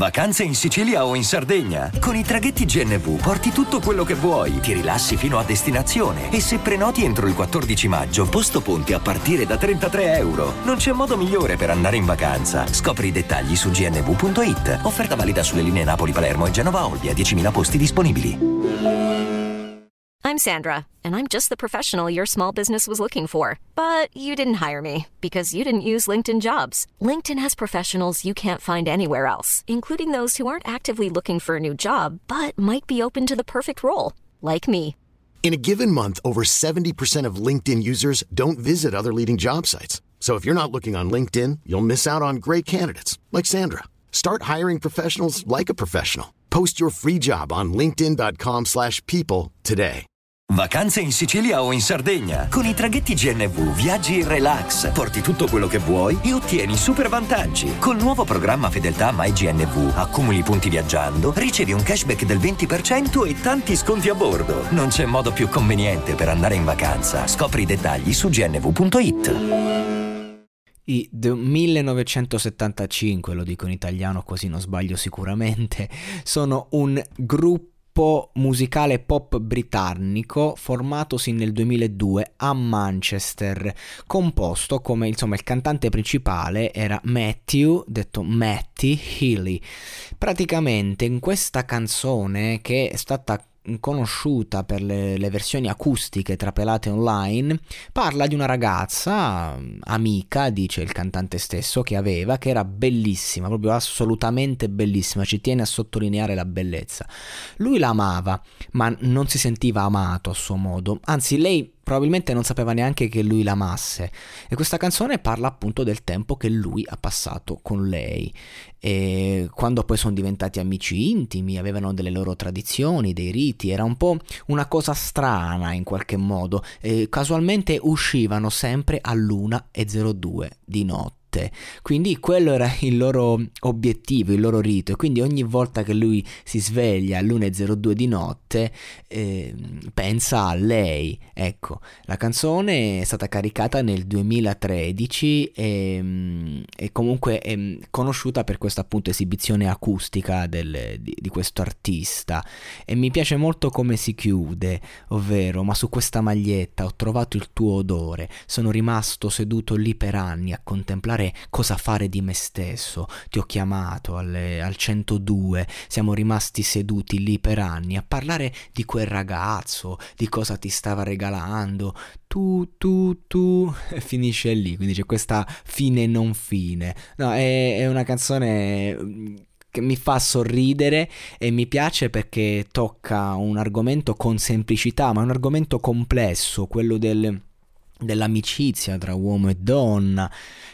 Vacanze in Sicilia o in Sardegna? Con i traghetti GNV porti tutto quello che vuoi, ti rilassi fino a destinazione e se prenoti entro il 14 maggio, posto ponti a partire da €33. Non c'è modo migliore per andare in vacanza. Scopri i dettagli su gnv.it. Offerta valida sulle linee Napoli-Palermo e Genova-Olbia, 10.000 posti disponibili. I'm Sandra, and I'm just the professional your small business was looking for. But you didn't hire me because you didn't use LinkedIn Jobs. LinkedIn has professionals you can't find anywhere else, including those who aren't actively looking for a new job, but might be open to the perfect role, like me. In a given month, over 70% of LinkedIn users don't visit other leading job sites. So if you're not looking on LinkedIn, you'll miss out on great candidates, like Sandra. Start hiring professionals like a professional. Post your free job on linkedin.com/people today. Vacanze in Sicilia o in Sardegna? Con i traghetti GNV viaggi in relax, porti tutto quello che vuoi e ottieni super vantaggi. Col nuovo programma Fedeltà MyGNV accumuli punti viaggiando, ricevi un cashback del 20% e tanti sconti a bordo. Non c'è modo più conveniente per andare in vacanza. Scopri i dettagli su gnv.it. I The 1975, lo dico in italiano così non sbaglio sicuramente, sono un gruppo musicale pop britannico formatosi nel 2002 a Manchester, composto come insomma il cantante principale era Matthew, detto Matty Healy. Praticamente in questa canzone, che è stata conosciuta per le versioni acustiche trapelate online, parla di una ragazza amica, dice il cantante stesso, che era bellissima, proprio assolutamente bellissima, ci tiene a sottolineare la bellezza. Lui la amava, ma non si sentiva amato a suo modo, anzi lei probabilmente non sapeva neanche che lui l'amasse, e questa canzone parla appunto del tempo che lui ha passato con lei, e quando poi sono diventati amici intimi, avevano delle loro tradizioni, dei riti, era un po' una cosa strana in qualche modo, e casualmente uscivano sempre all'1:02 di notte. Quindi quello era il loro obiettivo, il loro rito, e quindi ogni volta che lui si sveglia all'1:02 di notte pensa a lei. Ecco, la canzone è stata caricata nel 2013 e comunque è conosciuta per questa appunto esibizione acustica di questo artista, e mi piace molto come si chiude, ovvero: ma su questa maglietta ho trovato il tuo odore, sono rimasto seduto lì per anni a contemplare cosa fare di me stesso, ti ho chiamato al 102, siamo rimasti seduti lì per anni a parlare di quel ragazzo, di cosa ti stava regalando, tu, e finisce lì, quindi c'è questa fine non fine. No, è una canzone che mi fa sorridere e mi piace perché tocca un argomento con semplicità, ma è un argomento complesso, quello dell'amicizia tra uomo e donna,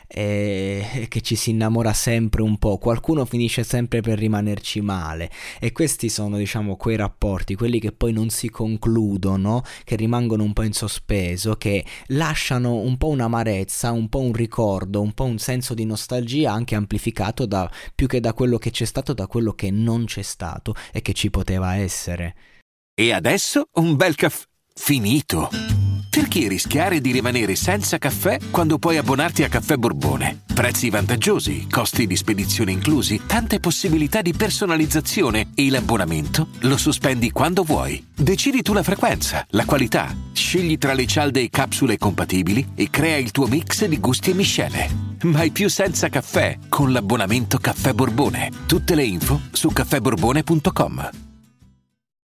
che ci si innamora sempre un po', qualcuno finisce sempre per rimanerci male, e questi sono, diciamo, quei rapporti, quelli che poi non si concludono, che rimangono un po' in sospeso, che lasciano un po' un'amarezza, un po' un ricordo, un po' un senso di nostalgia, anche amplificato più che da quello che c'è stato, da quello che non c'è stato e che ci poteva essere. E adesso un bel caffè finito. Perché rischiare di rimanere senza caffè quando puoi abbonarti a Caffè Borbone? Prezzi vantaggiosi, costi di spedizione inclusi, tante possibilità di personalizzazione, e l'abbonamento lo sospendi quando vuoi. Decidi tu la frequenza, la qualità, scegli tra le cialde e capsule compatibili e crea il tuo mix di gusti e miscele. Mai più senza caffè con l'abbonamento Caffè Borbone. Tutte le info su caffèborbone.com.